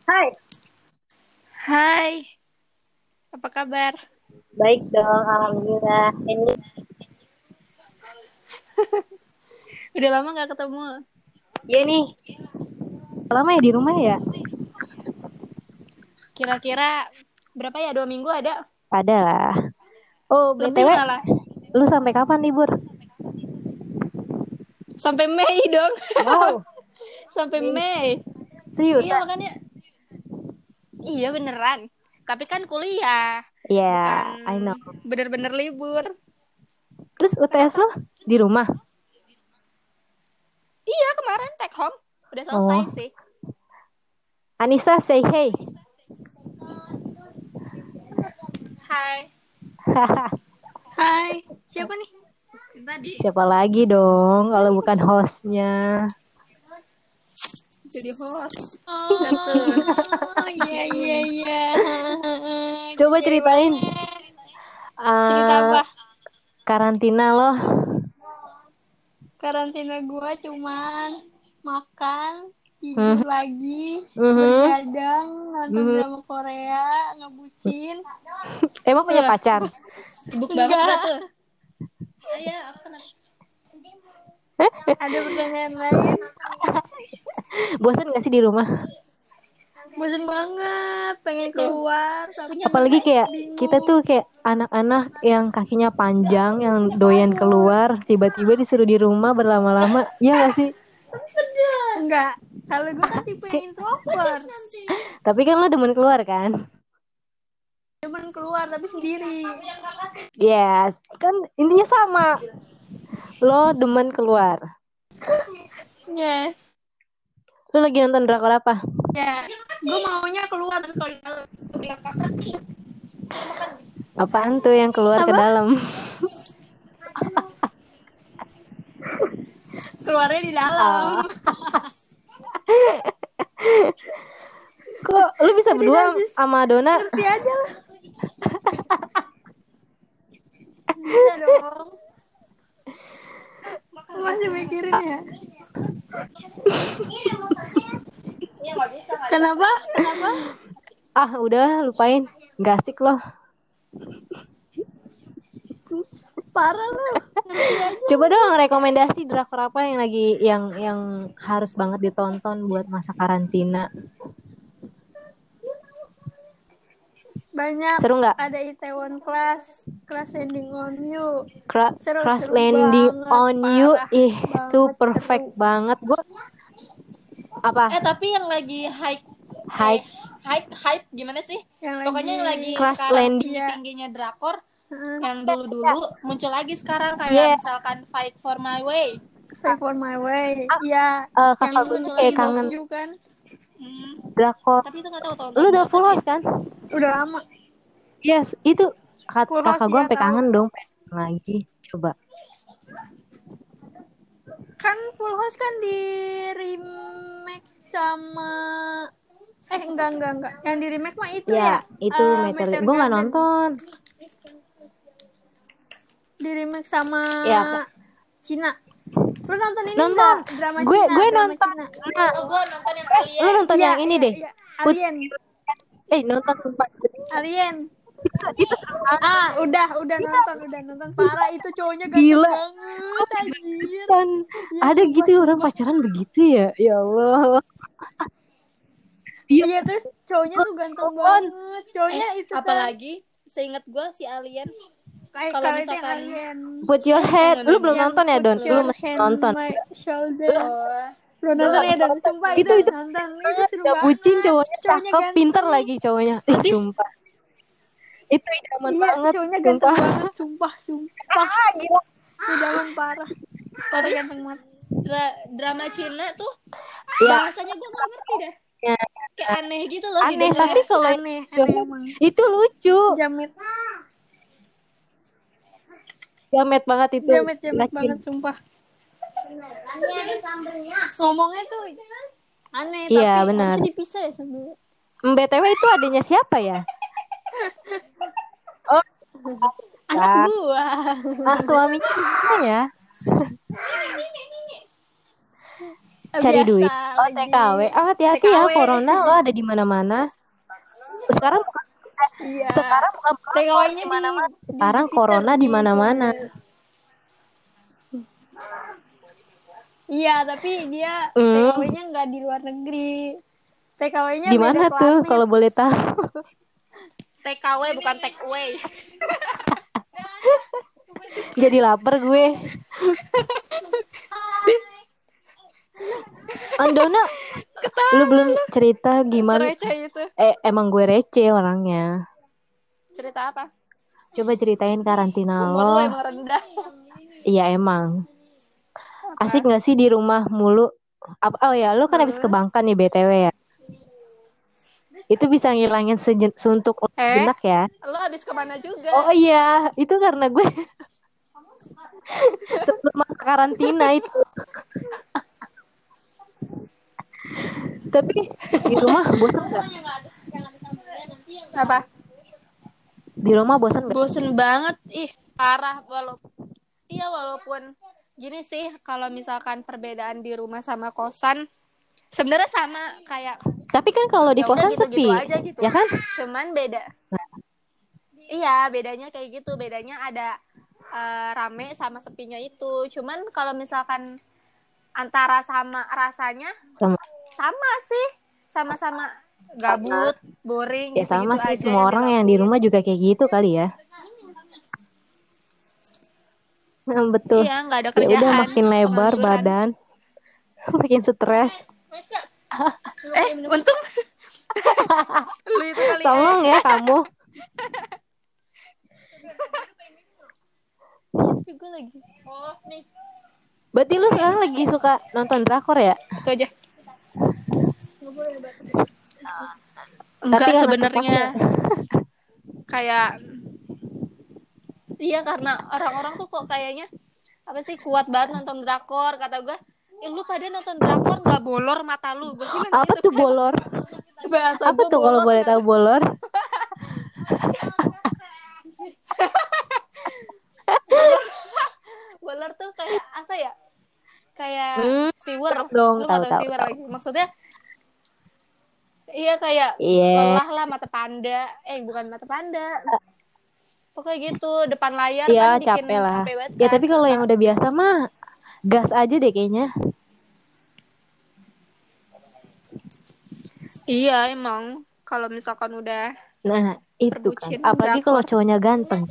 Hai, Hai, apa kabar? baik dong, alhamdulillah. Ini Udah lama gak ketemu. ya nih, lama ya di rumah ya? Kira-kira berapa ya? 2 minggu ada? Ada lah. Oh, Lebih BTW, malah. lu sampai kapan libur? Sampai Mei dong. Wow, Sampai Mei. Mei. Iya Seriusan? makanya. Iya beneran. Tapi kan kuliah. Ya, Bukan yeah, I know. bener-bener libur. Terus UTS lu di rumah? Iya kemarin take home. Udah selesai Oh, sih. Anissa say hey. Hai. Hai. Siapa nih? Tadi. Siapa lagi dong kalau bukan hostnya? Jadi host. Oh, iya iya iya. Coba Jadi ceritain banget. Cerita uh, apa? karantina lo. Karantina gua cuman makan, tidur Mhm, lagi, mhm, bergadang, nonton mhm. drama Korea, ngebucin. Emang punya pacar? Sibuk banget gak tuh? Ayah, apa kenapa? Ada pertanyaan lain? Bosan gak sih di rumah? Bosan banget, pengen keluar tapi Apalagi kayak kita bingung. tuh kayak anak-anak yang kakinya panjang, yang doyan keluar, tiba-tiba disuruh di rumah berlama-lama, ya gak sih? Enggak, kalau gue kan tipe Cik, yang introvert. tapi kan lo demen keluar kan? Cuman keluar tapi sendiri. Yes, kan intinya sama. Lo demen keluar. Yes. Lo lagi nonton drakor apa? Ya, gue maunya keluar tapi kalau di dalam Apaan tuh yang keluar ke apa? dalam? Keluarnya di dalam. Ah, kok lo bisa Udah berdua najis. sama Dona? Ngerti aja lah. Bisa dong. Masih mikirin ya. Kenapa? Kenapa? Ah, udah lupain. Gak asik loh. Parah lu. Ngerti aja Coba lu. dong rekomendasi drakor apa yang lagi yang harus banget ditonton buat masa karantina. Banyak. Seru nggak? Ada Itaewon Class, Class Ending on You. Crash Seru-seru Landing banget. on You, Parah itu banget perfect seru. banget. Gue apa? Tapi yang lagi Hype hype gimana sih? Yang Pokoknya yang lagi Crash sekarang Landing. tinggi-tingginya drakor, yang dulu-dulu muncul lagi sekarang kayak Ya, misalkan Fight for My Way. Fight for My Way. yeah. Iya, yang Kakak gue tuh muncul kayak lagi kangen Dokju kan. Hmm. drakor. Tapi itu nggak tahu tahun Lu berapa udah full tapi house kan? udah lama. Yes, itu Full kakak House gue ya sampai tahu. kangen dong pengen lagi. Coba. Kan Full House kan di remake sama enggak. Yang di remake mah itu Ya, ya. itu Meteor. Meteor Gue nggak Garden. nonton. Di remake sama Ya, Cina. Lu nonton ini nonton. enggak? Drama Gue Cina, gue drama nonton. Cina. Nah, Oh, gue nonton yang lu Alien. nonton Iya, yang ini iya, deh. iya. Put Alien. nonton sumpah. Alien. Itu seru banget. Udah Kita nonton parah itu cowoknya ganteng gila. banget Gue anjir. kan Iya ada sumpah gitu orang sumpah. pacaran begitu ya. Ya Allah. Iya, Iya terus cowoknya tuh ganteng nonton. banget. Cowoknya itu kan Apalagi seingat gue si Alien kayak kalau kalau itu yang misalkan alien. Put your head. yang Lu mana belum nih? Yang nonton ya, put Don? Lu your mesti hand nonton. my shoulder. Oh, Belum nonton belum. ya Dan, sumpah itu Itu harus itu nonton. Itu banget. seru Gak bucin, banget. cowoknya Cowoknya cakep, pinter ganteng. lagi cowoknya. Habis Sumpah. Itu idaman Iya, banget, cowoknya ganteng sumpah. banget, sumpah. Ah, gila. Idaman parah. Parah habis ganteng banget. drama Cina tuh Ya, bahasanya gue nggak ngerti dah. ya, Kayak aneh gitu loh aneh. didengarnya. Tapi kalau yang Aneh emang. itu lucu. Jamet, Jamet banget itu. jamet Racun. banget, sumpah. Ngomongnya tuh aneh, Iya, tapi benar. harusnya dipisah ya sambil. BTW itu adanya siapa ya? Oh, Anak kan. gua. Ah, suaminya gimana ya? cari Biasa duit. Oh, lagi. TKW. Ah, hati-hati ya, TKW. corona lo ada di mana-mana. Sekarang Iya. sekarang bukan TKW-nya di mana-mana. di Sekarang Twitter, corona di mana-mana. Iya, tapi dia Hmm, TKW-nya nggak di luar negeri. TKW-nya di beda mana tuh planet. kalau boleh tahu? TKW bukan take away. Jadi lapar gue. Andona, lu belum cerita gimana? Sereceh itu. Emang gue receh orangnya. Cerita apa? Coba ceritain karantina Umur lu lo. emang rendah. Iya emang. Asik gak sih di rumah mulu? Oh ya, lu kan habis ke Bangka nih BTW ya. Itu bisa ngilangin suntuk jenak ya. Lu habis kemana juga? Oh iya, itu karena gue sebelum masa karantina itu. Tapi di rumah bosan gak? Apa? Di rumah bosan gak? Bosen banget. Ih, parah. Walaupun gini sih, kalau misalkan perbedaan di rumah sama kosan sebenarnya sama kayak Tapi kan kalau di ya udah kosan gitu-gitu sepi, aja gitu. ya kan? Cuman beda. Iya, bedanya kayak gitu. Bedanya ada rame sama sepinya itu. Cuman kalau misalkan antara sama rasanya Sama. sama sih. Sama-sama gabut, boring Ya sama gitu-gitu sih, aja semua orang yang di dilakuin. rumah juga kayak gitu kali ya. Betul. Iya, nggak ada Ya udah kerjaan. makin lebar Pengangguran. badan, makin stres. Untung lu itu kali Songong ya kamu. Tapi gue lagi. Oh, nih. Berarti lu sekarang lagi suka nonton drakor ya? Itu aja. Tapi Enggak karena sebenarnya terpaksa. kayak iya karena orang-orang tuh kok kayaknya apa sih kuat banget nonton drakor kata gue. Lu pada nonton drakor nggak bolor mata lu? Gue bilang Apa gitu tuh kan. bolor? Bahasa Apa gue tuh kalau bolor boleh nggak? tahu bolor? Bolor tuh kayak apa ya? Kayak siwer. Dong, Lu nggak tahu tahu. siwer lagi? Maksudnya iya kayak Iya. lelah lah mata panda. Bukan mata panda. Pokoknya gitu depan layar Iya, kan bikin capek lah. capek banget Ya kan tapi kalau yang mata. udah biasa mah gas aja deh kayaknya. Iya emang kalau misalkan udah Nah, itu kan. perbucin Apalagi kalau drakor. cowoknya ganteng.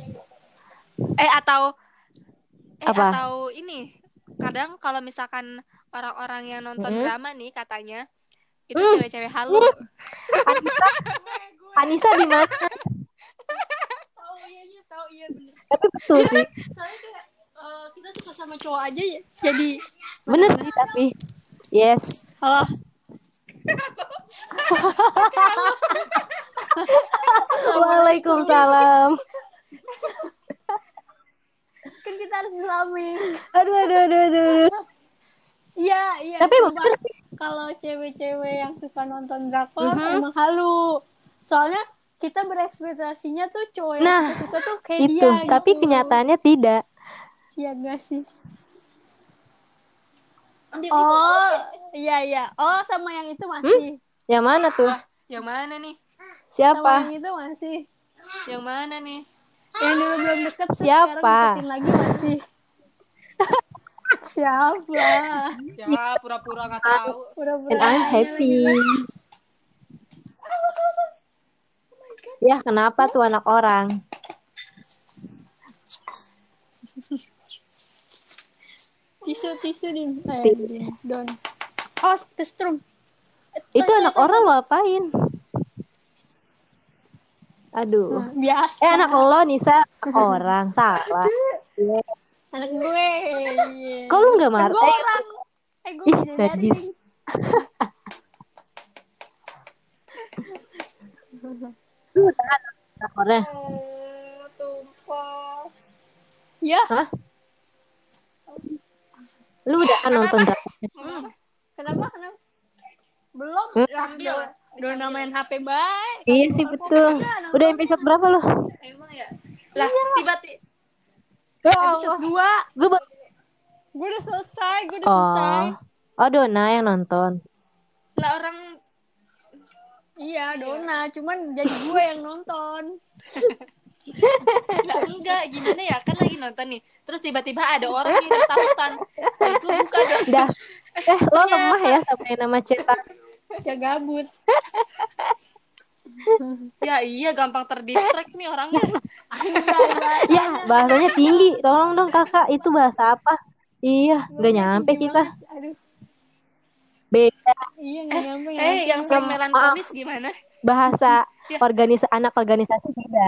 Apa? Atau ini kadang kalau misalkan orang-orang yang nonton drama nih katanya itu cewek-cewek halu. Anissa di mana? Tahu iya bener. Tapi betul sih. Soalnya kayak kita suka sama cowok aja ya. Jadi Bener sih tapi. Yes. halo. Waalaikumsalam. Kan kita harus islami. Aduh. Iya. Tapi emang Cuma bener sih. kalau cewek-cewek yang suka nonton drakor emang halu. Soalnya kita berekspektasinya tuh cowok yang Nah, kita suka tuh kayak itu. dia Tapi gitu. kenyataannya tidak. Iya enggak sih? Oh, iya. Oh, sama yang itu masih. Yang mana tuh? Yang mana nih? Sama Siapa? yang itu masih. Yang mana nih? Yang dulu belum deket terus Siapa? sekarang deketin lagi masih. Siapa? Ya pura-pura nggak tahu. Pura-pura And I'm nanya happy. lagi. Ya, kenapa tuh anak orang? Tisu di don. Oh, testrum. Itu anak orang lo apain? Aduh. Biasa. Anak lo Nisa anak orang salah. Anak gue. Kok lu nggak marah? Gue orang. Gue Ih, bidadari. najis. Lu udah drakornya? Tumpah. Ya. Hah? Lu udah kan nonton drakornya? Kenapa? Belum. Sambil. Udah namain HP baik. Iya sih betul. Udah episode berapa lo? Emang ya. Lah tiba-tiba. Ya Episode Allah. 2. Gue Gue udah selesai. Oh, Dona yang nonton. Lah orang Iya, Dona, cuman jadi gue yang nonton. lah enggak, gimana ya? Kan lagi nonton nih. Terus tiba-tiba ada orang yang ketakutan. Ya gue buka dong. Dah. Lo lemah ya sama yang nama cetak. Cagabut. Ya iya, gampang terdistract nih orangnya. Ya, bahasanya tinggi. Tolong dong kakak, itu bahasa apa? Iya, nggak nyampe kita. Aduh. Beda. Iya, nggak nyampe. Yang sering melankolis gimana? Bahasa anak organisasi beda.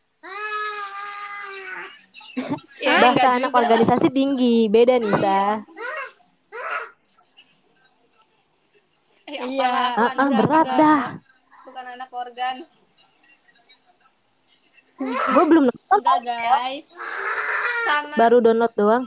Ya, Bahasa anak juga. organisasi tinggi, beda Nisa. Iya, berat dah. Bukan anak organ. Gue belum nonton. Enggak guys. Sama. Baru download doang.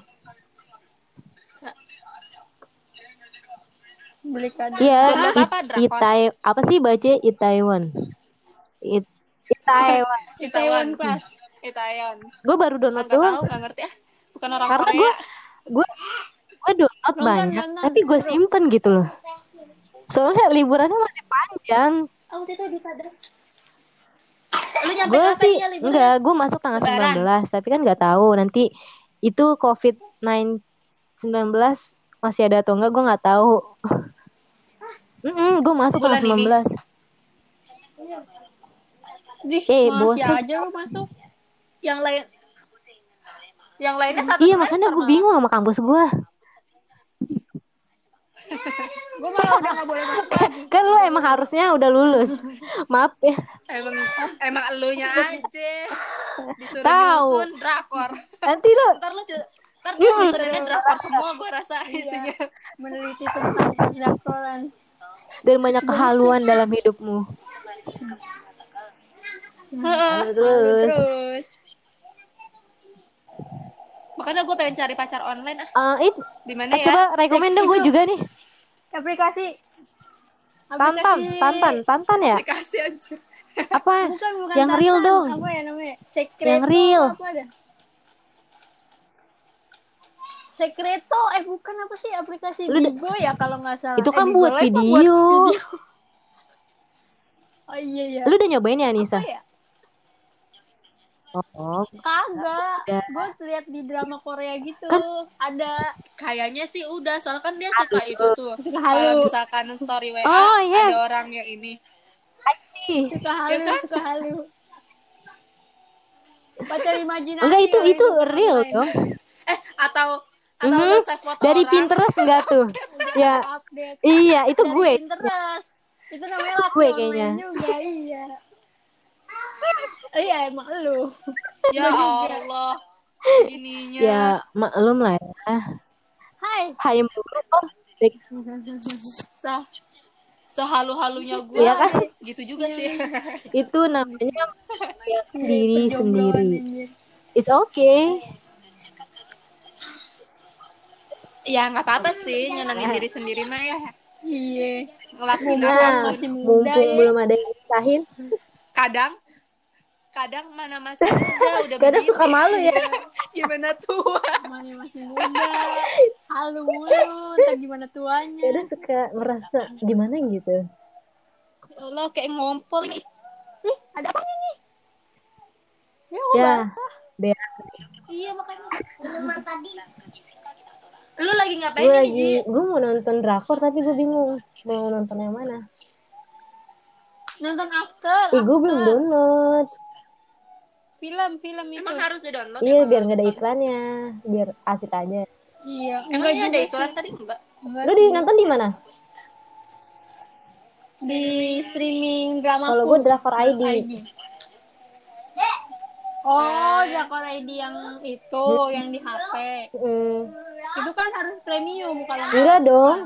Beli kado. Iya, Itai apa sih baca Itaewon? Itaewon. Itaewon Class. Itaewon. Gue baru download doang. Nggak ngerti ya. Bukan orang Karena Korea. gue download banyak, tapi gue simpen gitu loh. Soalnya liburannya masih panjang. Oh, itu di Padang. Lu nyampe Gue kapan sih ya liburan? enggak, gue masuk tanggal 19, tapi kan nggak tahu nanti itu COVID-19 masih ada atau enggak, gue nggak tahu. Gue masuk tanggal 19. Masih aja lu masuk. Yang lainnya satu Iya, makanya gue bingung sama kampus gue. Gue malah udah gak boleh masuk lagi. Kan lu emang harusnya udah lulus. Maaf ya. Emang elunya aja disuruh Tahu. nyusun drakor. Nanti lu Ntar susunannya drakor semua, gue rasa isinya. Meneliti tentang pendrakoran dan banyak kehaluan dalam hidupmu. Terus. Makanya gue pengen cari pacar online di mana ya? Coba rekomen dong, gue juga nih. Aplikasi Tantan ya? Aplikasi aja. Apa? Bukan yang Tantan. real dong. Apa ya namanya? Secreto. Yang real. Apa ada? Secreto, bukan apa sih aplikasi Bigo ya kalau nggak salah. Itu kan buat video. Oh iya ya. Lu udah nyobain ya, Anissa? Apa ya? Oh. Kagak. Gue lihat di drama Korea gitu. Kan ada. Kayaknya sih udah, soalnya kan dia suka itu tuh. Kalau misalkan story WA ada orang yang ini. Suka halu, kan? Suka halu. Pacar imajinasi. Enggak, itu real dong. Atau lo save foto dari orang. Pinterest enggak tuh? Ya. Update. Iya, itu dari gue. Pinterest. Itu namanya laki gue kayaknya. Juga, iya. Iya, emang lu. Ya Allah. Gininya. Ya, maklum lah ya. Hai mulu. Sehalu-halunya gue. Iya kan? Gitu juga sih. Itu namanya diri sendiri. It's okay. Ya nggak apa-apa sih, nyenengin diri sendiri mah ya. Iya. Ngelakuin apa masih muda mumpung belum ada yang nisahin. Kadang mana masih muda udah kadang suka malu ya. Gimana tua? Mana masih muda. Halu mulu, entar gimana tuanya. Kadang suka merasa gimana gitu. Lo kayak ngompol nih. Ih, ada apa nih? Ya. Iya makanya. Tadi. Lu lagi ngapain nih, Ji? Gue mau nonton drakor tapi gue bingung mau nonton yang mana. Nonton After. Gue belum download. Film itu. Emang harus di-download? Iya, biar nggak ada iklannya, biar asik aja. Iya. Emang ada iklan tadi enggak? Lu nonton di mana? Di streaming drama. Kalau gue Drakor ID. Oh, Drakor ID yang itu, yang di HP. Itu kan harus premium kalau enggak dong.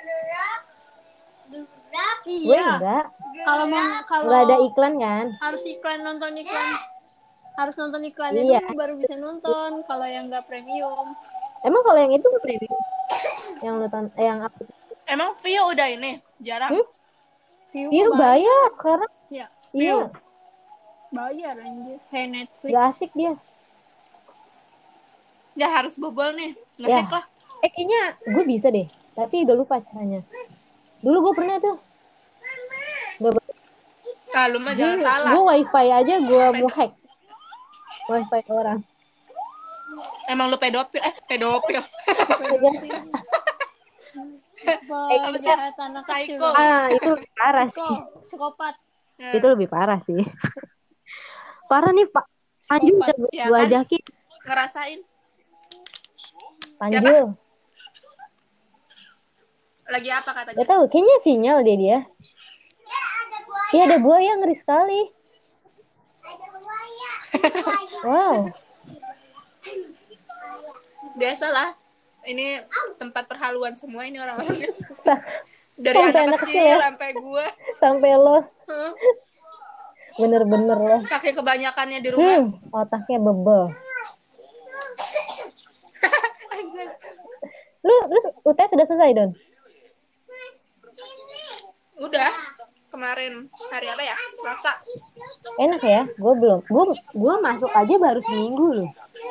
Iya. Gue enggak. Kalau enggak ada iklan kan? Harus nonton iklan. Harus nonton iklannya dulu baru bisa nonton. Kalau yang enggak premium. Emang kalau yang itu enggak premium? Yang nonton yang apa? Emang Vio udah ini jarang. Vio bayar sekarang. Iya. Bayar anjir. Netflix. Gak asik dia. Ya harus bobol nih. Nge-hack lah. Kayaknya gue bisa deh, tapi udah lupa caranya. Dulu gue pernah tuh. Lu mah jangan salah. Gue wifi aja gue mau hack. Wifi orang. Emang lu pedofil? Pedofil. Penjahat anak kecil. Itu lebih parah sih. Psikopat. Itu lebih parah sih. Parah nih Pak. Panju udah gue kan? ajakin. Ngerasain. Panju. Siapa? Lagi apa katanya? Gak tahu, kayaknya sinyal dia. Iya ada buaya ngeri sekali. Wow. Biasalah. Ini tempat perhaluan semua ini orang-orangnya. Dari sampai anak kecil sampai gue. Sampai lo. Bener-bener lo. Saking kebanyakannya di rumah. Otaknya bebel. Lu terus UTS sudah selesai, Don? Udah. Kemarin hari apa ya? Selasa. Enak ya? Gue belum. Gue masuk aja baru seminggu loh.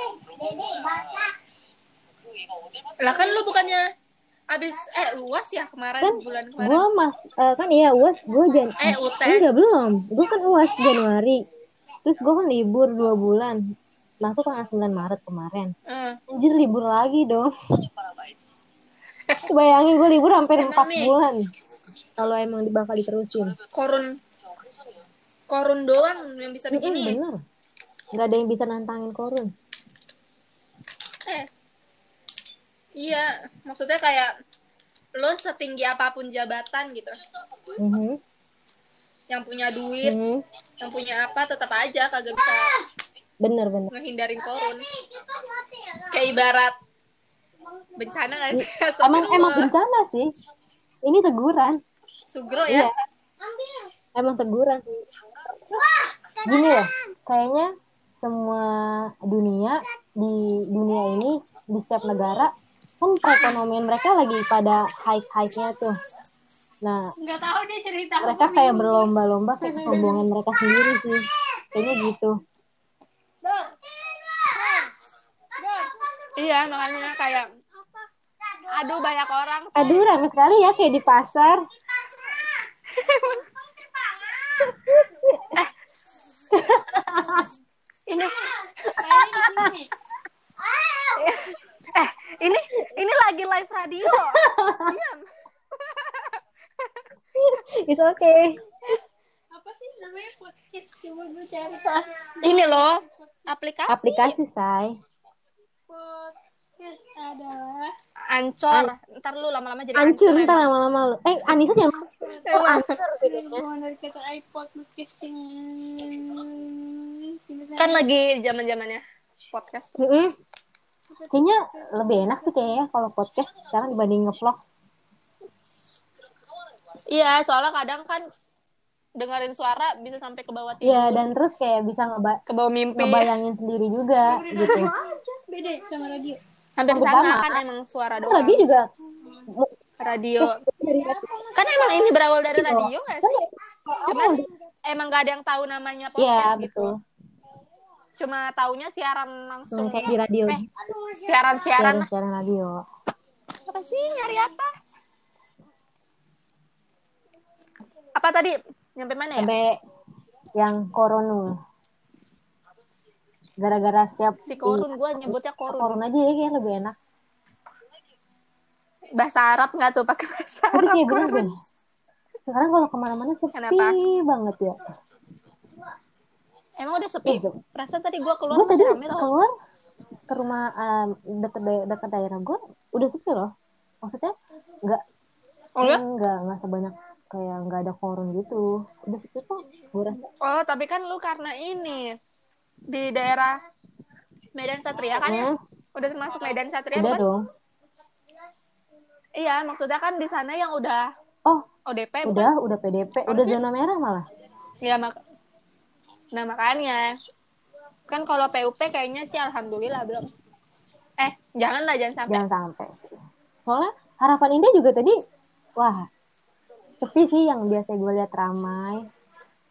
Lah kan lu bukannya abis UAS ya kemarin kan, bulan kemarin. Gue kan iya UAS gue UTS. Enggak belum. Gue kan UAS Januari. Terus gue kan libur 2 bulan. Masuk tanggal 9 Maret kemarin. Anjir libur lagi dong. Bayangin gue libur hampir 4 bulan. Kalau emang bakal diterusin. Korun doang yang bisa begini. Bener. Gak ada yang bisa nantangin korun. Iya, maksudnya kayak lo setinggi apapun jabatan gitu. Yang punya duit, yang punya apa tetap aja kagak bisa. Bener. Ngehindarin korun. Kayak ibarat bencana gak sih? Emang bencana sih. Ini teguran. Sugro ya? Iya. Emang teguran sih. Gini loh, kayaknya semua di dunia ini, di setiap negara, kan perekonomian mereka lagi pada high-nya tuh. Nah, nggak tahu dia cerita mereka kayak berlomba-lomba kayak kesombongan mereka sendiri sih. Kayaknya gitu. Iya, makanya kayak aduh banyak orang sih. Aduh ramai sekali ya kayak di pasar. Ini lagi live radio. Diam. It's okay. Apa sih namanya podcast? Coba gue cari. Ini loh, aplikasi say. Podcast adalah Ancor. Ntar lu lama-lama jadi Ancur. Ntar lama-lama lu. Anissa jangan. Ancur. Dari kata iPod podcasting. Kan lagi zaman-zamannya podcast. Kayaknya lebih enak sih kayaknya kalau podcast sekarang dibanding ngevlog. Iya, soalnya kadang kan dengerin suara bisa sampai ke bawah tidur. Iya, dan terus kayak bisa ke bawah mimpi. Ngebayangin sendiri juga gitu. Beda sama radio. Hampir sama kan emang suara doang. Radio juga. Radio. Kan emang ini berawal dari radio nggak sih? Cuman emang nggak ada yang tahu namanya podcast gitu. Betul. Cuma taunya siaran langsung kayak di radio. Siaran radio. Apa sih nyari apa? Apa tadi? Nyampe mana ya? Sampai yang korun. Gara-gara setiap si korun, gue nyebutnya korun. Korun aja ya kayak lebih enak. Bahasa Arab nggak tuh pakai bahasa Arab? Tapi kayak bener. Sekarang kalau kemana-mana sepi banget ya. Emang udah sepi? Perasaan tadi gue keluar masih rame loh. Keluar ke rumah dekat daerah gue udah sepi loh. Maksudnya nggak sebanyak kayak nggak ada korun gitu. Udah sepi kok. Oh tapi kan lu karena ini di daerah Medan Satria kan ya? Udah termasuk Medan Satria udah kan? Dong. Iya maksudnya kan di sana yang udah ODP udah PDP udah zona merah malah. Iya nah makanya kan kalau PUP kayaknya sih alhamdulillah belum. Jangan sampai. Soalnya Harapan Indah juga tadi sepi sih, yang biasa gue lihat ramai.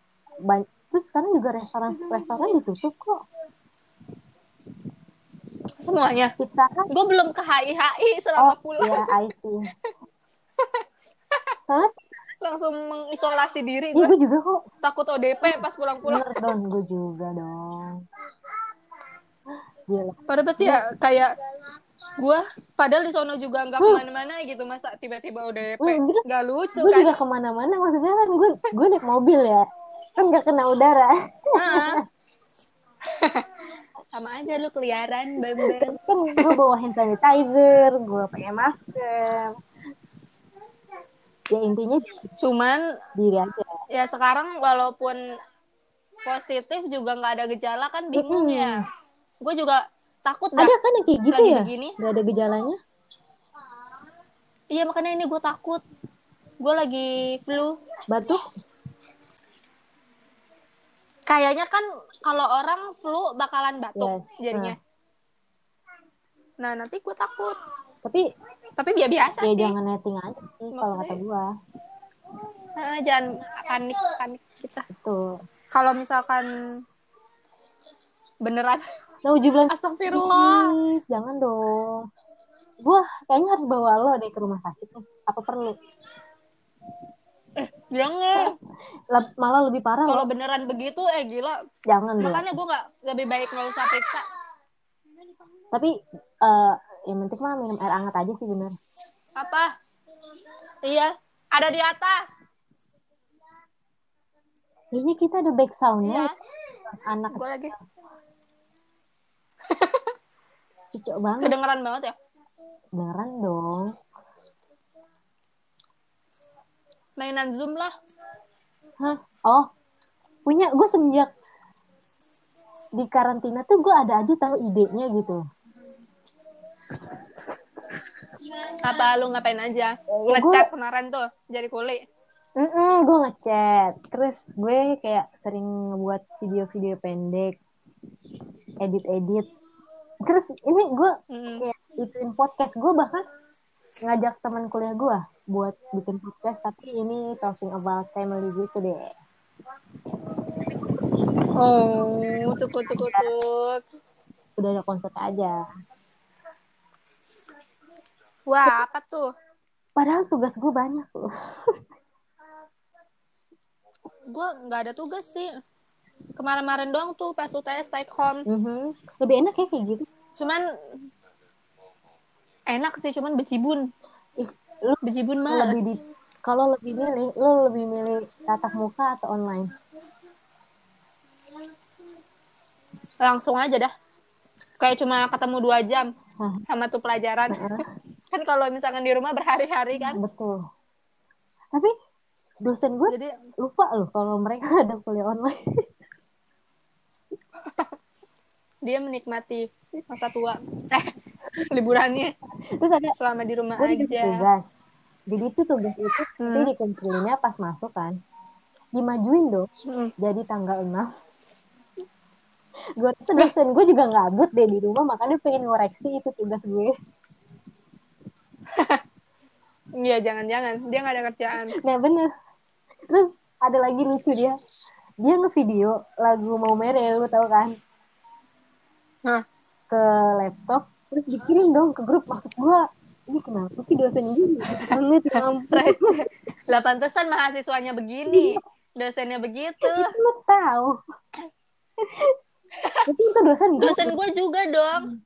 Terus sekarang juga restoran ditutup kok. Semuanya. Kita kan gue belum ke HI selama pulang. Iya, I see. Soalnya langsung mengisolasi diri gue juga kok. Takut ODP pas pulang-pulang. Bener dong, gue juga dong. Gila. Pada pasti ya kayak gue padahal di sono juga nggak kemana-mana gitu, masa tiba-tiba ODP nggak lucu gue kan. juga kemana-mana, maksudnya kan gue naik mobil ya, kan nggak kena udara. Sama aja lu keliaran bang. Kan gue bawa hand sanitizer, gue pakai masker. Ya intinya cuman diri aja. Ya sekarang walaupun positif juga nggak ada gejala kan bingung ya. Gue juga takut dah. Ada kan yang kayak gitu lagi ya? Begini. Nggak ada gejalanya? Iya makanya ini gue takut. Gue lagi flu. Batuk? Kayaknya kan kalau orang flu bakalan batuk jadinya. Nah nanti gue takut. Tapi biasa ya sih. Jangan netting aja sih kalau kata gue. Jangan panik kita. Betul. Kalau misalkan beneran. Astagfirullah. Jangan dong. Gue kayaknya harus bawa lo deh ke rumah sakit. Apa perlu? Jangan. Malah lebih parah. Kalau beneran begitu, gila. Jangan. Makanya gue lebih baik nggak usah periksa. Tapi yang penting mah minum air hangat aja sih, bener. Apa? Iya, ada di atas. Ini kita ada back sound-nya. Iya. Anak gue lagi. Cocok banget. Kedengeran banget ya? Beneran dong. Mainan Zoom lah. Hah? Oh, punya. Gue semenjak di karantina tuh gue ada aja tahu idenya gitu. Apa lu ngapain aja? Ngechat kemarin tuh jadi kuli. Gue ngechat. Terus gue kayak sering ngebuat video-video pendek, edit. Terus ini gue kayak ituin podcast. Gue bahkan ngajak teman kuliah gue buat bikin podcast, tapi ini talking about family gitu deh. Oh, tukut. Udah ada konsep aja. Wah, apa tuh? Padahal tugas gue banyak loh. Gue nggak ada tugas sih. Kemarin-kemarin doang tuh pas UTS take home. Lebih enak ya kayak gitu. Cuman enak sih, cuman becibun. Becibun mah. Kalau lebih milih tatap muka atau online? Langsung aja dah. Kayak cuma ketemu 2 jam sama tuh pelajaran. Kan kalau misalkan di rumah berhari-hari kan. Betul. Tapi dosen gue jadi lupa loh kalau mereka ada kuliah online. Dia menikmati masa tua. Liburannya. Terus ada selama di rumah aja. Tugas. Jadi itu tugas itu nanti dikumpulinnya pas masuk kan. Dimajuin dong. Jadi tanggal 6. Gue tuh dosen gue juga ngabut deh di rumah, makanya pengen ngoreksi itu tugas gue. Iya, jangan-jangan dia nggak ada kerjaan. Nah bener. Terus ada lagi lucu dia ngevideo lagu Mau Mere, lu tau kan? Ke laptop, terus dikirim dong ke grup. Maksud gue, ini kenapa sih dosen gini? Lah pantesan mahasiswanya begini, dosennya begitu. Lu tahu? Itu dosen gue juga dong.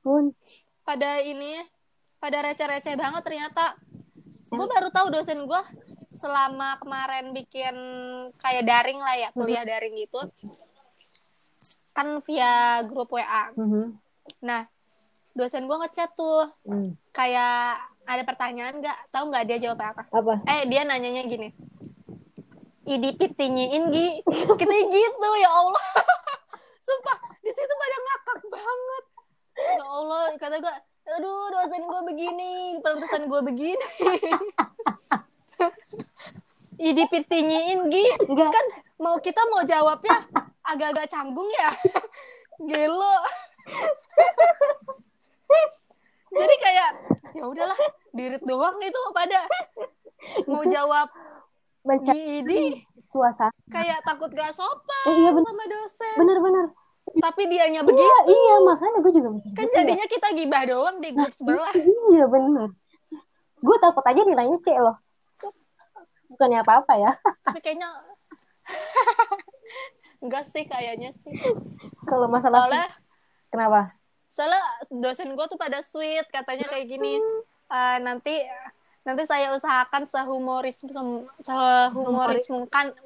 Pada receh-receh banget ternyata. Gue baru tahu dosen gue selama kemarin bikin kayak daring lah ya, kuliah daring gitu. Kan via grup WA. Nah, dosen gue ngechat tuh. Kayak ada pertanyaan tahu nggak dia jawab apa? Dia nanyanya gini. Idipitinya Gi. Kita gitu, ya Allah. Sumpah, di situ pada ngakak banget. Ya Allah, kata gue, aduh dosen gue begini, pantesan gue begini. Idipitinya Gi. Kan kita mau jawabnya agak-agak canggung ya. Gelo. Jadi kayak ya udahlah, dirit doang itu pada mau jawab Gidi suasana kayak takut gak sopan sama dosen. Bener tapi dianya begitu. Iya, makanya gue juga mikir kan jadinya kita gibah doang di grup sebelah. Iya bener, gue takut aja nilainya C loh, bukannya apa-apa ya. Tapi kayaknya enggak sih, kayaknya sih. Kalau masalah soalnya kenapa? Soalnya dosen gue tuh pada sweet, katanya kayak gini, nanti saya usahakan sehumoris mungkin.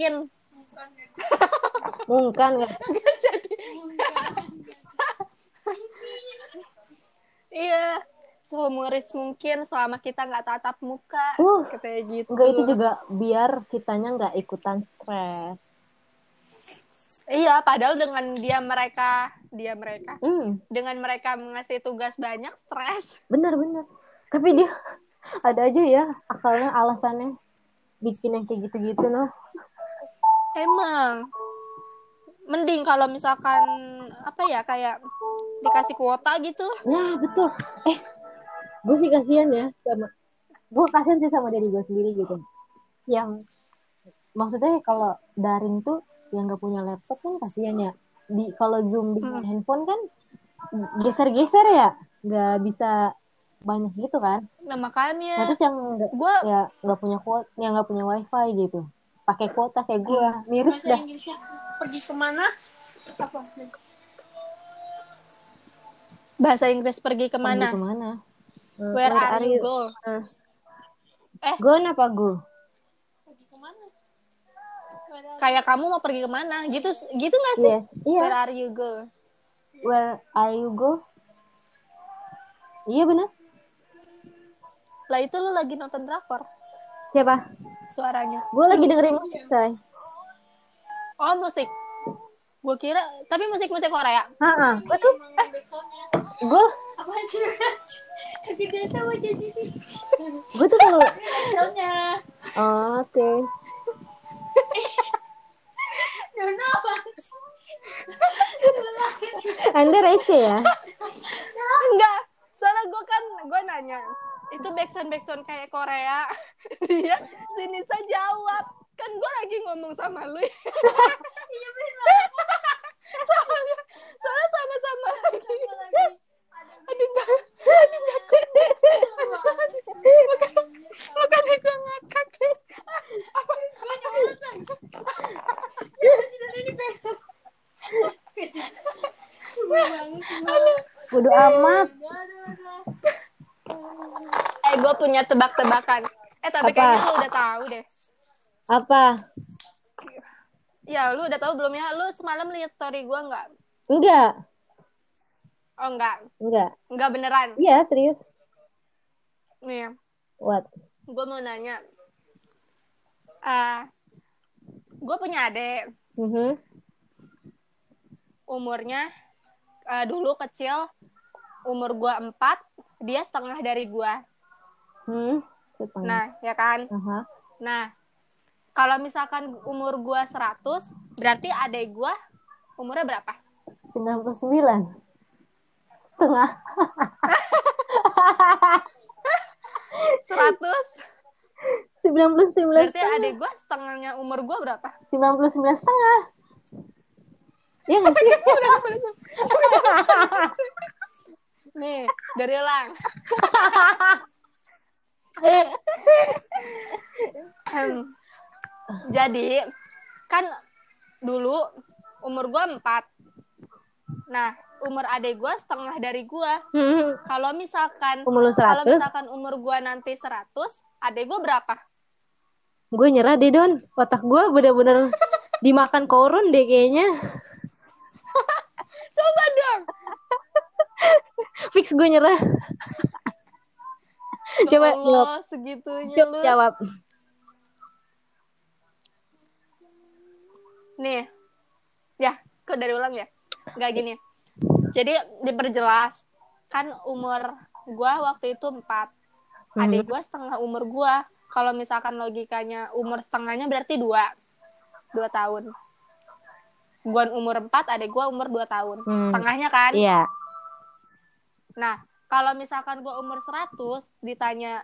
Mungkin nggak jadi. Iya, sehumoris mungkin selama kita nggak tatap muka, katanya gitu. Enggak, itu juga biar kitanya nggak ikutan stres. Iya, padahal dengan mereka dengan mereka mengasih tugas banyak, stres. Benar. Tapi dia ada aja ya akalnya, alasannya bikin yang kayak gitu-gitu noh. Emang mending kalau misalkan apa ya, kayak dikasih kuota gitu. Nah betul. Gue sih kasihan ya sama diri gue sendiri gitu. Yang maksudnya kalau daring tuh yang nggak punya laptop kan kasihan ya. Kalau Zoom di handphone kan geser-geser ya, nggak bisa banyak gitu kan. Nah makanya. Nah, terus yang nggak punya kuota, yang nggak punya wifi gitu, pakai kuota kayak gue, miris dah. Inggrisnya pergi kemana? Apa? Bahasa Inggris pergi kemana? Where are you go? Go apa go? Pergi kemana? Kayak kamu mau pergi kemana? Gitu nggak sih? Yes. Iya. Where are you go? Where are you go? Iya benar. Lah itu lu lagi nonton drakor? Siapa? Suaranya. Gue lagi dengerin musik, say. Oh, musik. Gue kira, tapi musik Korea. Gue tuh gue apa sih? Tidak tahu jadi. Gue tuh kalau Soalnya. Oke. Nona apa? Anda receh ya? Enggak. Soalnya gue nanya, itu backsound kayak Korea. Dia sini saya jawab. Kan gue lagi ngomong sama lu. Iya benar. Soalnya sama-sama lagi. Makanya gue ngakak. Apa banyak banget kan? Ya masih ada ini besok. Bodo amat. Gue punya tebak-tebakan. Tapi kayaknya lu udah tahu deh. Apa? Ya, lu udah tahu belum ya? Lu semalam lihat story gue nggak? Enggak. Oh, enggak. Enggak Beneran. Iya, serius. Nih. What? Gue mau nanya. Gue punya adik. Umurnya dulu kecil. Umur gue 4. Dia setengah dari gue. Nah, ya kan? Nah, kalau misalkan umur gue 100, berarti adik gue umurnya berapa? 99. Setengah. 99. Berarti adik gue setengahnya umur gue berapa? 99 setengah. Iya nggak sih? Nih, dari ulang. Jadi, kan dulu umur gue 4. Nah, umur adik gue setengah dari gue. Kalau misalkan umur gue nanti 100, adik gue berapa? Gue nyerah deh, Don. Otak gue bener-bener dimakan korun deh kayaknya. Coba dong. Fix gue nyerah. Coba Allah, segitunya lu. Jawab. Nih. Ya, kok dari ulang ya? Enggak gini. Jadi diperjelas. Kan umur gue waktu itu 4. Adik gue setengah umur gue. Kalau misalkan logikanya umur setengahnya berarti 2 tahun. Gue umur 4, adik gue umur 2 tahun. Setengahnya kan? Iya. Nah, kalau misalkan gue umur 100, ditanya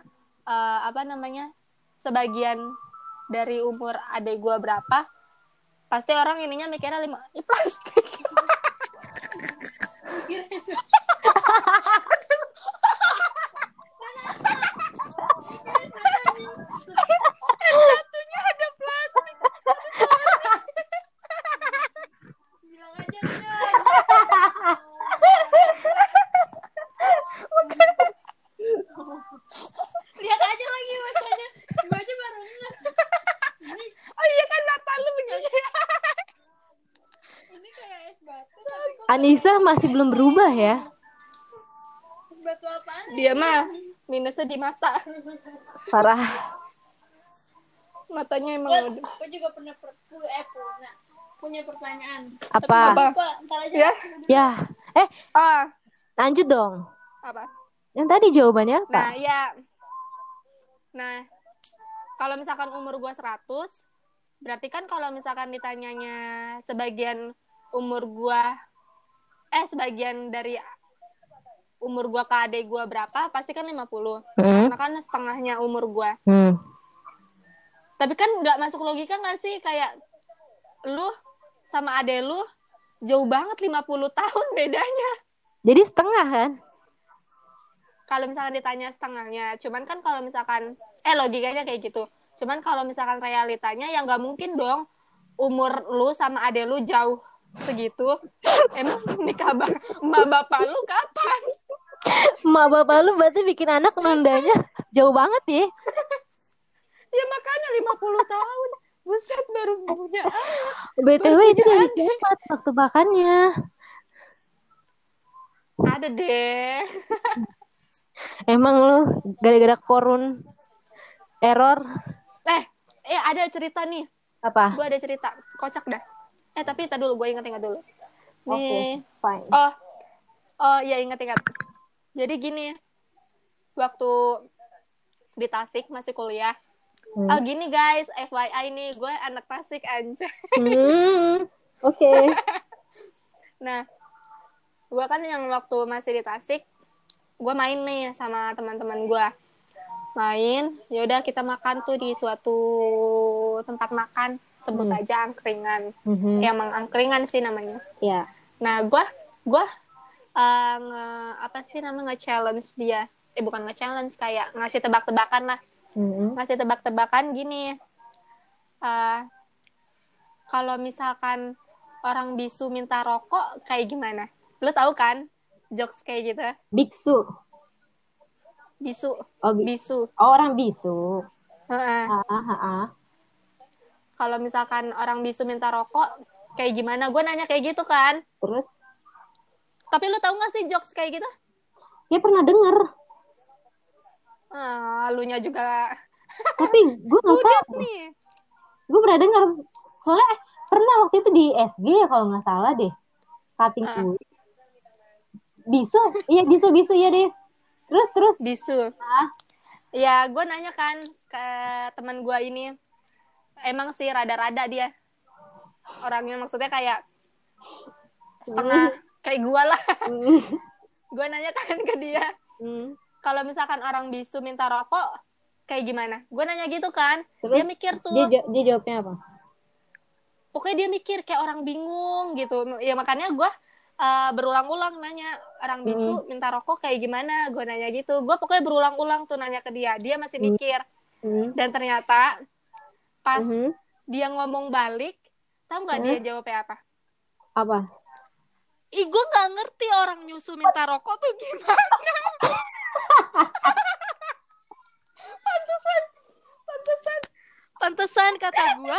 sebagian dari umur adik gue berapa, pasti orang ininya mikirnya plastik. S1-nya ada plastik. Bilang aja lihat aja lagi bacanya. Baca baru ini. Oh iya kan mata lu begini. Ini kayak es batu tapi kok Anissa masih belum berubah ya. es batu apaan? Dia mah minusnya di mata. Parah. Matanya emang Gue juga pernah punya pertanyaan. Apa? Apa? Ntar aja. Ya. Ya. Lanjut dong. Apa? Yang tadi jawabannya apa? Nah, ya. Nah, kalau misalkan umur gua 100, berarti kan kalau misalkan ditanyanya sebagian dari umur gua ke adik gua berapa, pasti kan 50. Karena kan setengahnya umur gua. Tapi kan nggak masuk logika nggak sih, kayak lu sama adek lu jauh banget 50 tahun bedanya. Jadi setengah kan? Kalau misalkan ditanya setengahnya, cuman kan kalau misalkan logikanya kayak gitu. Cuman kalau misalkan realitanya ya nggak mungkin dong umur lu sama adek lu jauh segitu. Emang nikah emak bapak lu kapan? Emak bapak lu berarti bikin anak nundanya jauh banget ya. Ya makanya 50 tahun. Buset, baru punya anak. BTW itu dari cepat waktu makannya. Ada deh. Emang lu gara-gara korun error. Ada cerita nih. Apa? Gue ada cerita. Kocak dah. Tapi kita dulu, gue ingat dulu. Oke, fine. Ya ingat. Jadi gini. Waktu di Tasik masih kuliah. Gini guys, FYI nih, gue anak Tasik anjay. Oke. Nah, gue kan yang waktu masih di Tasik, gue main nih sama teman-teman gue. Main, yaudah kita makan tuh di suatu tempat makan, sebut aja angkringan. Emang angkringan sih namanya. Iya. Nah, gue nge-challenge dia. Bukan nge-challenge, kayak ngasih tebak-tebakan lah. Ngasih tebak-tebakan gini. Kalau misalkan orang bisu minta rokok kayak gimana? Lu tahu kan jokes kayak gitu? Biksu. Bisu. Bisu. Orang bisu. Kalau misalkan orang bisu minta rokok kayak gimana? Gue nanya kayak gitu kan. Terus? Tapi lu tahu nggak sih jokes kayak gitu? Ya pernah denger. Lunya juga. Tapi gue nggak tahu. Nih. Gue pernah denger. Soalnya pernah waktu itu di SG ya kalau nggak salah deh. Cutting kulit. Bisu. Iya bisu ya deh. Terus. Bisu. Ya gue nanya kan ke teman gue ini. Emang sih rada-rada dia. Orangnya maksudnya kayak setengah kayak gue lah. Gue nanya kan ke dia. Kalau misalkan orang bisu minta rokok kayak gimana? Gue nanya gitu kan. Terus, dia mikir tuh. Dia jawabnya apa? Pokoknya dia mikir kayak orang bingung gitu. Ya makanya gue berulang-ulang nanya orang bisu minta rokok kayak gimana. Gue nanya gitu. Gue pokoknya berulang-ulang tuh nanya ke dia. Dia masih mikir. Dan ternyata pas dia ngomong balik, tahu nggak dia jawabnya apa? Apa? Ih, gue nggak ngerti orang nyusu minta rokok tuh gimana. Pantesan kata gue,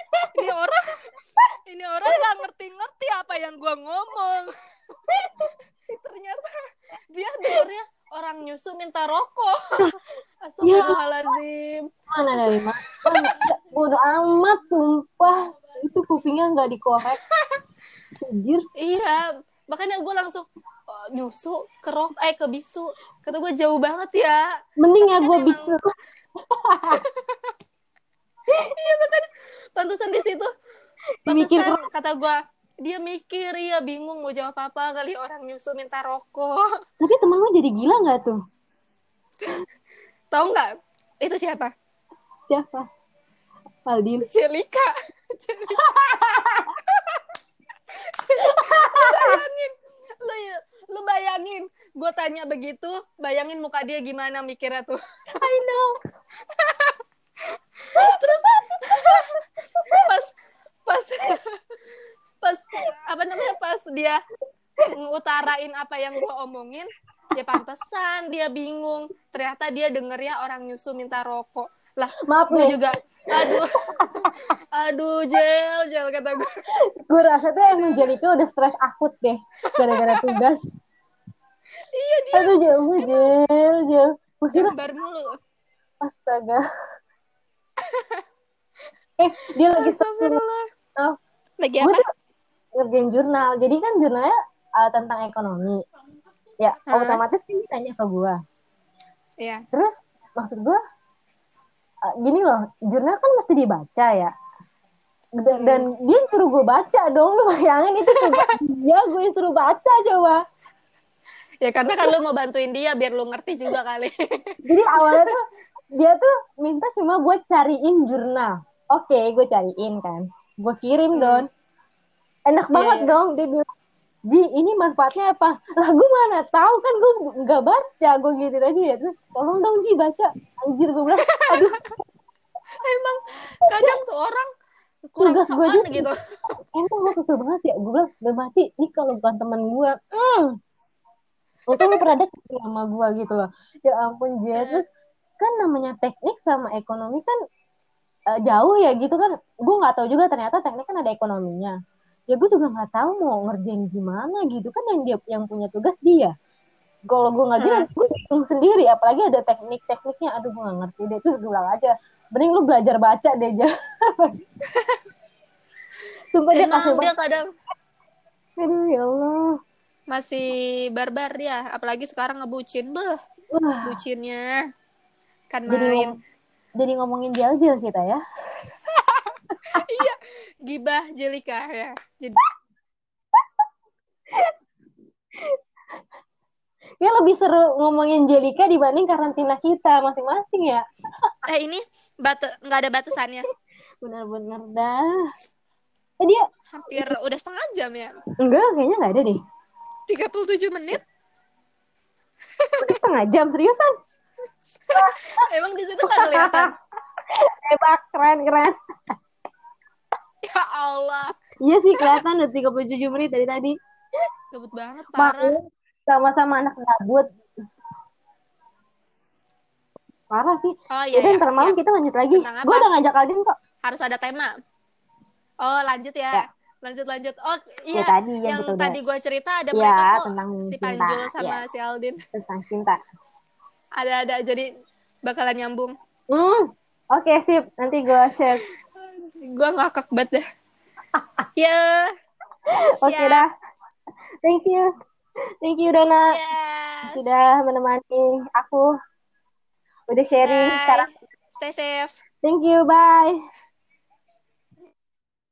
ini orang nggak ngerti apa yang gue ngomong. Ternyata dia dengernya orang nyusu minta rokok. Astagfirullahaladzim. Mana dari mana? Bodoh amat, sumpah. Itu kupingnya nggak dikorek. Anjir. Iya, makanya gue langsung nyusu ke bisu. Kata gue jauh banget ya. Mending ya gue bisu. Iya makanya pantesan di situ. Pantesan kata gue dia mikir ya bingung mau jawab apa kali orang nyusu minta rokok. Tapi temen lo jadi gila nggak tuh? Tahu nggak? Itu siapa? Aldin. Celika. Lu bayangin, gue tanya begitu, bayangin muka dia gimana mikirnya tuh. I know. Terus pas apa namanya, pas dia ngutarain apa yang gue omongin, ya pantesan dia bingung. Ternyata dia denger ya orang nyusu minta rokok. Lah, maaf gue nih. juga, aduh, Jel kata gue. Gue rasa tuh emang Jelika udah stres akut deh gara-gara tugas. Iya dia. Aduh Jel. Gue kira gambar mulu. Astaga. Dia lagi Astagfirullah. Lagi gue apa? tuh ngerjain jurnal. Jadi kan jurnalnya tentang ekonomi. Ya, otomatis kan ditanya ke gue. Iya. Terus maksud gue gini loh, jurnal kan mesti dibaca ya. Dan dia suruh gue baca dong, lu bayangin itu tugas dia, gue suruh baca coba. Ya karena kan lu mau bantuin dia biar lu ngerti juga kali. Jadi awalnya tuh dia tuh minta cuma gue cariin jurnal. Oke, gue cariin kan. Gue kirim Don. Enak banget dong, dia bilang, Ji, ini manfaatnya apa? Lah gue mana tahu kan, gue nggak baca, gue gitu aja ya. Terus tolong dong Ji baca. Anjir gue bilang, aduh. Emang kadang tuh orang kurang sopan gitu. Emang gue kesel banget ya. Gue bilang, udah mati, ini kalau bukan teman gue. Untung lu pernah deket sama gue gitu loh. Ya ampun Jet. Terus kan namanya teknik sama ekonomi kan jauh ya gitu kan. Gue gak tahu juga ternyata teknik kan ada ekonominya. Ya gue juga gak tahu mau ngerjain gimana gitu kan, yang punya tugas dia. Kalau gue ngerjain gue bingung sendiri, apalagi ada tekniknya. Aduh gue gak ngerti deh. Terus gue bilang aja, mending lu belajar baca deh aja. Sumpah emang dia kadang aduh ya Allah, masih barbar dia, apalagi sekarang ngebucin. Bucinnya kan main. Jadi ngomongin jel-jel kita ya. Iya, gibah Jelika ya. Jadi ya lebih seru ngomongin Jelika dibanding karantina kita masing-masing ya. Ini nggak ada batasannya. Bener-bener dah. Dia hampir udah setengah jam ya. Enggak, kayaknya nggak ada deh. 37 menit. Udah setengah jam, seriusan? Emang di situ nggak kelihatan? Hebat, keren. Ya Allah. Iya sih kelihatan udah 37 menit dari tadi. Gabut banget, parah. Sama-sama anak gabut. Parah sih. Oh iya. Ntar malam kita lanjut lagi. Gue udah ngajak Aldin kok. Harus ada tema. Oh lanjut ya. Lanjut. Oh iya. Yang tadi gue cerita ada mereka kok. Si Panjul sama si Aldin. Tentang cinta. Ada jadi bakalan nyambung. Oke, sip. Nanti gue share. Gue ngakak banget dah. Ya. Oke dah. Thank you Dona. Sudah menemani aku. Udah sharing sekarang. Stay safe. Thank you, bye.